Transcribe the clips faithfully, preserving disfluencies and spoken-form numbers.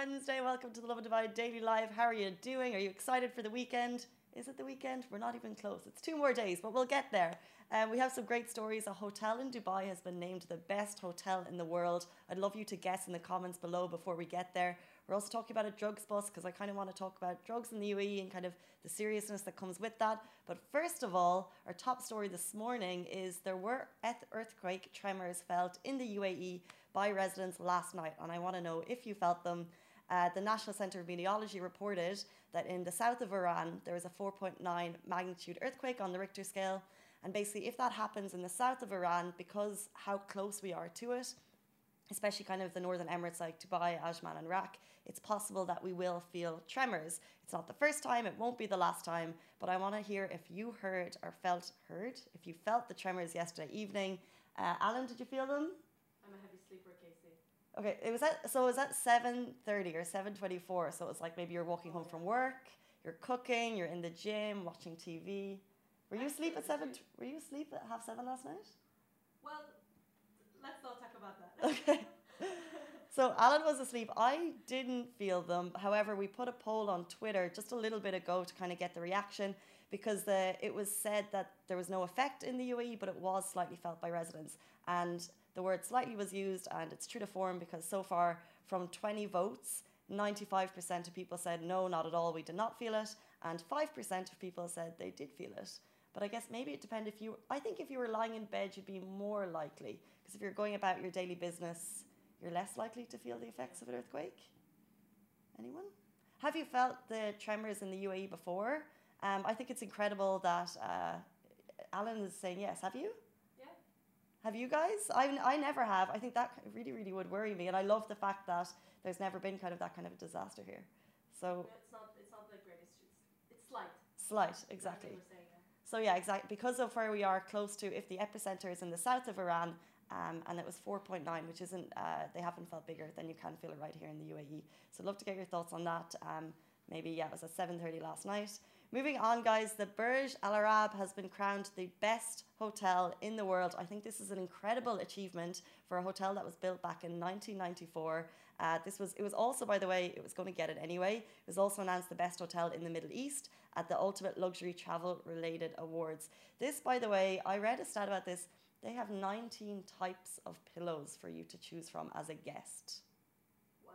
Wednesday. Welcome to the Lovin Dubai Daily Live. How are you doing? Are you excited for the weekend? Is it the weekend? We're not even close. It's two more days, but we'll get there. Um, we have some great stories. A hotel in Dubai has been named the best hotel in the world. I'd love you to guess in the comments below before we get there. We're also talking about a drugs bust because I kind of want to talk about drugs in the U A E and kind of the seriousness that comes with that. But first of all, our top story this morning is there were earthquake tremors felt in the U A E by residents last night, and I want to know if you felt them. Uh, the National Centre of Meteorology reported that in the south of Iran there was a four point nine magnitude earthquake on the Richter scale, and basically if that happens in the south of Iran, because how close we are to it, especially kind of the northern Emirates like Dubai, Ajman and Iraq, it's possible that we will feel tremors. It's not the first time, it won't be the last time, but I want to hear if you heard or felt heard, if you felt the tremors yesterday evening. Uh, Alan, did you feel them? I'm a heavy sleeper, Casey. Okay, it was at so it was at seven thirty or seven twenty-four. So it was like maybe you're walking home from work, you're cooking, you're in the gym, watching T V. Were you asleep at seven? Were you asleep at half seven last night? Well, let's not talk about that. Okay. So Alan was asleep. I didn't feel them. However, we put a poll on Twitter just a little bit ago to kind of get the reaction, because the, it was said that there was no effect in the U A E, but it was slightly felt by residents. And the word slightly was used, and it's true to form because so far from twenty votes, ninety-five percent of people said no, not at all, we did not feel it. And five percent of people said they did feel it. But I guess maybe it depended if you, I think if you were lying in bed, you'd be more likely. Because if you're going about your daily business, you're less likely to feel the effects of an earthquake. Anyone? Have you felt the tremors in the U A E before? Um, I think it's incredible that uh, Alan is saying yes. Have you? Yeah. Have you guys? I, I never have. I think that really, really would worry me. And I love the fact that there's never been kind of that kind of a disaster here. So It's not, it's not the greatest. It's, it's slight. Slight, exactly. Like we were saying, yeah. So yeah, exactly. Because of where we are close to, if the epicenter is in the south of Iran, um, and it was four point nine, which isn't, uh, they haven't felt bigger, then you can feel it right here in the U A E. So I'd love to get your thoughts on that. Um, maybe, yeah, it was at seven thirty last night. Moving on, guys, the Burj Al Arab has been crowned the best hotel in the world. I think this is an incredible achievement for a hotel that was built back in nineteen ninety-four. Uh, this was, it was also, by the way, it was going to get it anyway. It was also announced the best hotel in the Middle East at the Ultimate Luxury Travel Related Awards. This, by the way, I read a stat about this. They have nineteen types of pillows for you to choose from as a guest. What?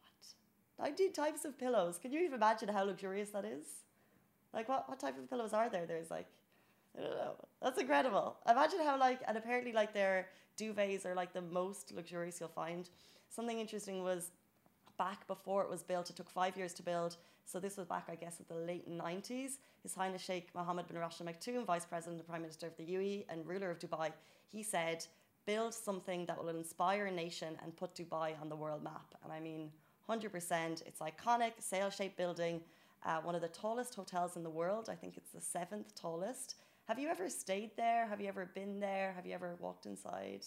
What? nineteen types of pillows. Can you even imagine how luxurious that is? Like, what, what type of pillows are there? There's like, I don't know. That's incredible. Imagine how, like, and apparently, like, their duvets are, like, the most luxurious you'll find. Something interesting was back before it was built, it took five years to build. So this was back, I guess, at the late nineties. His Highness Sheikh Mohammed bin Rashid Al Maktoum, Vice President and Prime Minister of the U A E and ruler of Dubai, he said, build something that will inspire a nation and put Dubai on the world map. And I mean, one hundred percent. It's iconic, sail-shaped building. Uh, one of the tallest hotels in the world. I think it's the seventh tallest. Have you ever stayed there? Have you ever been there? Have you ever walked inside?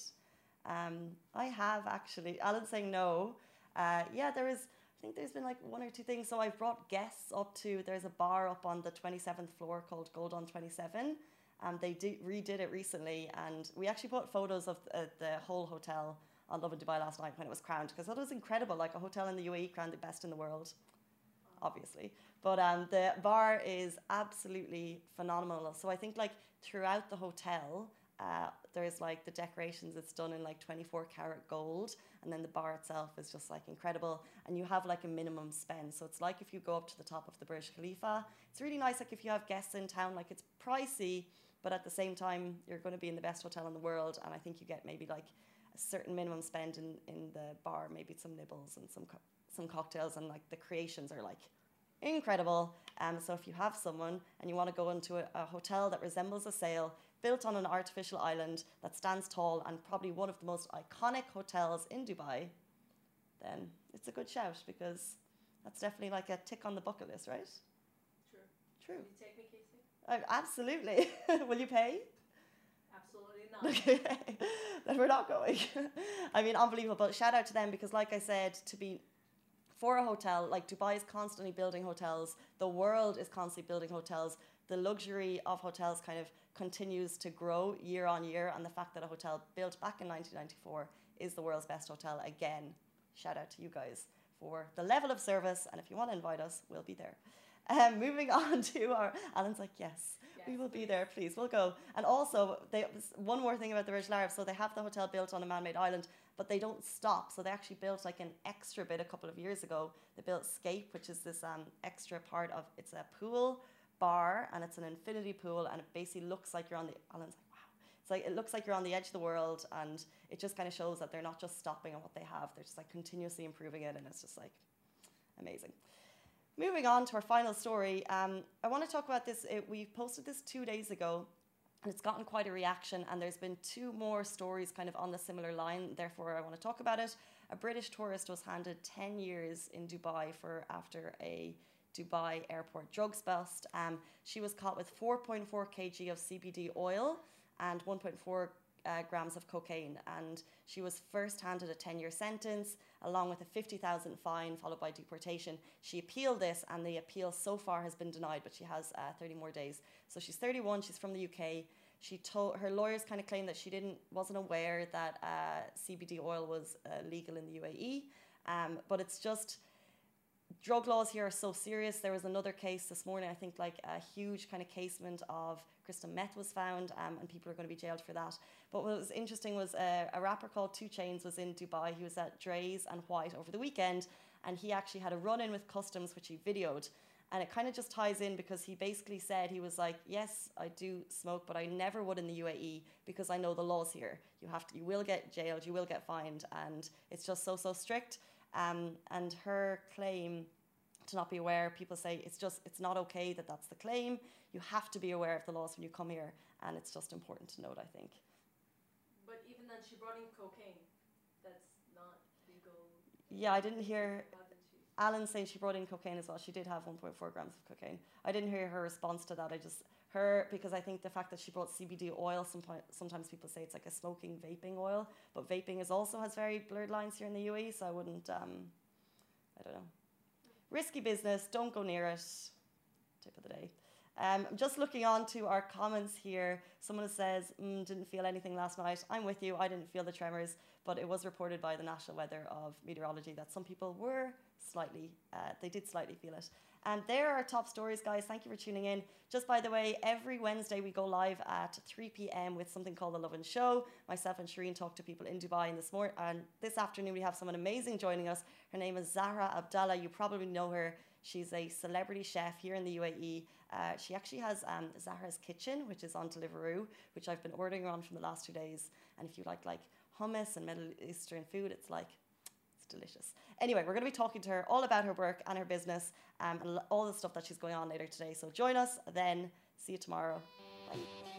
Um, I have actually. Alan's saying no. Uh, yeah, there is, I think there's been like one or two things. So I've brought guests up to, there's a bar up on the twenty-seventh floor called Gold on twenty-seven. Um, they did, redid it recently, and we actually put photos of uh, the whole hotel on Lovin Dubai last night when it was crowned, because it was incredible, like a hotel in the U A E crowned the best in the world, obviously. But um, the bar is absolutely phenomenal. So I think like throughout the hotel, uh, there's like the decorations, it's done in like twenty-four karat gold. And then the bar itself is just like incredible. And you have like a minimum spend. So it's like if you go up to the top of the Burj Khalifa, it's really nice. Like if you have guests in town, like it's pricey, but at the same time, you're going to be in the best hotel in the world. And I think you get maybe like a certain minimum spend in, in the bar, maybe some nibbles and some, co some cocktails, and like the creations are like incredible. Um, so if you have someone and you want to go into a, a hotel that resembles a sail, built on an artificial island that stands tall and probably one of the most iconic hotels in Dubai, then it's a good shout, because that's definitely like a tick on the bucket list, right? True. True. Will you take me, Casey? Uh, absolutely. Will you pay? Absolutely not. Okay, then we're not going. I mean, unbelievable. Shout out to them, because like I said, to be for a hotel, like Dubai is constantly building hotels. The world is constantly building hotels. The luxury of hotels kind of continues to grow year on year. And the fact that a hotel built back in nineteen ninety-four is the world's best hotel again. Shout out to you guys for the level of service. And if you want to invite us, we'll be there. Um, moving on to our, Alan's like, yes, yes we will please. be there, please, we'll go. And also, they, one more thing about the Virgin Islands, so they have the hotel built on a man-made island, but they don't stop. So they actually built like an extra bit a couple of years ago. They built Scape, which is this um, extra part of, it's a pool bar, and it's an infinity pool, and it basically looks like you're on the, Alan's like, wow. It's like, it looks like you're on the edge of the world, and it just kind of shows that they're not just stopping on what they have, they're just like continuously improving it, and it's just like amazing. Moving on to our final story, um, I want to talk about this. It, we posted this two days ago, and it's gotten quite a reaction, and there's been two more stories kind of on the similar line, therefore I want to talk about it. A British tourist was handed ten years in Dubai for after a Dubai airport drugs bust. Um, she was caught with four point four kilograms of C B D oil and one point four uh, grams of cocaine, and she was first handed a ten-year sentence along with a fifty thousand fine followed by deportation. She appealed this, and the appeal so far has been denied, but she has uh, thirty more days. So she's thirty-one, she's from the U K. She told, her lawyers kind of claimed that she didn't wasn't aware that uh, C B D oil was uh, legal in the U A E, um, but it's just, drug laws here are so serious. There was another case this morning, I think like a huge kind of casement of crystal meth was found, um, and people are going to be jailed for that. But what was interesting was uh, a rapper called two Chainz was in Dubai. He was at Dre's and White over the weekend, and he actually had a run-in with customs, which he videoed. And it kind of just ties in because he basically said, he was like, yes, I do smoke, but I never would in the U A E because I know the laws here. You have to, you will get jailed, you will get fined, and it's just so, so strict. Um, and her claim to not be aware, people say it's just, it's not okay that that's the claim. You have to be aware of the laws when you come here, and it's just important to note, I think. But even then, she brought in cocaine. That's not legal. Yeah, I didn't hear Alan saying she brought in cocaine as well. She did have one point four grams of cocaine. I didn't hear her response to that. I just, her, because I think the fact that she brought C B D oil, sometimes, sometimes people say it's like a smoking vaping oil, but vaping is also has very blurred lines here in the U A E, so I wouldn't, um, I don't know. Risky business, don't go near it. Tip of the day. Um, I'm just looking on to our comments here. Someone says, mm, didn't feel anything last night. I'm with you, I didn't feel the tremors, but it was reported by the National Weather of Meteorology that some people were slightly, uh, they did slightly feel it. And there are our top stories, guys. Thank you for tuning in. Just by the way, every Wednesday we go live at three p m with something called The Lovin Show. Myself and Shireen talk to people in Dubai, and this morning and this afternoon we have someone amazing joining us. Her name is Zahra Abdallah. You probably know her. She's a celebrity chef here in the U A E. Uh, she actually has um, Zahra's Kitchen, which is on Deliveroo, which I've been ordering on from the last two days. And if you like like hummus and Middle Eastern food, it's like, it's delicious. Anyway, we're going to be talking to her all about her work and her business, um, and all the stuff that she's going on later today. So join us then. See you tomorrow. Bye.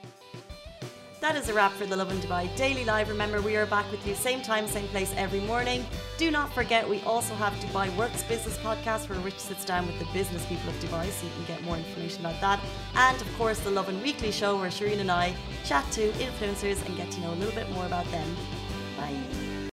That is a wrap for the Lovin Dubai Daily Live. Remember, we are back with you same time, same place every morning. Do not forget, we also have Dubai Works Business Podcast, where Rich sits down with the business people of Dubai, so you can get more information about that. And of course, the Lovin Weekly Show, where Shireen and I chat to influencers and get to know a little bit more about them. Bye.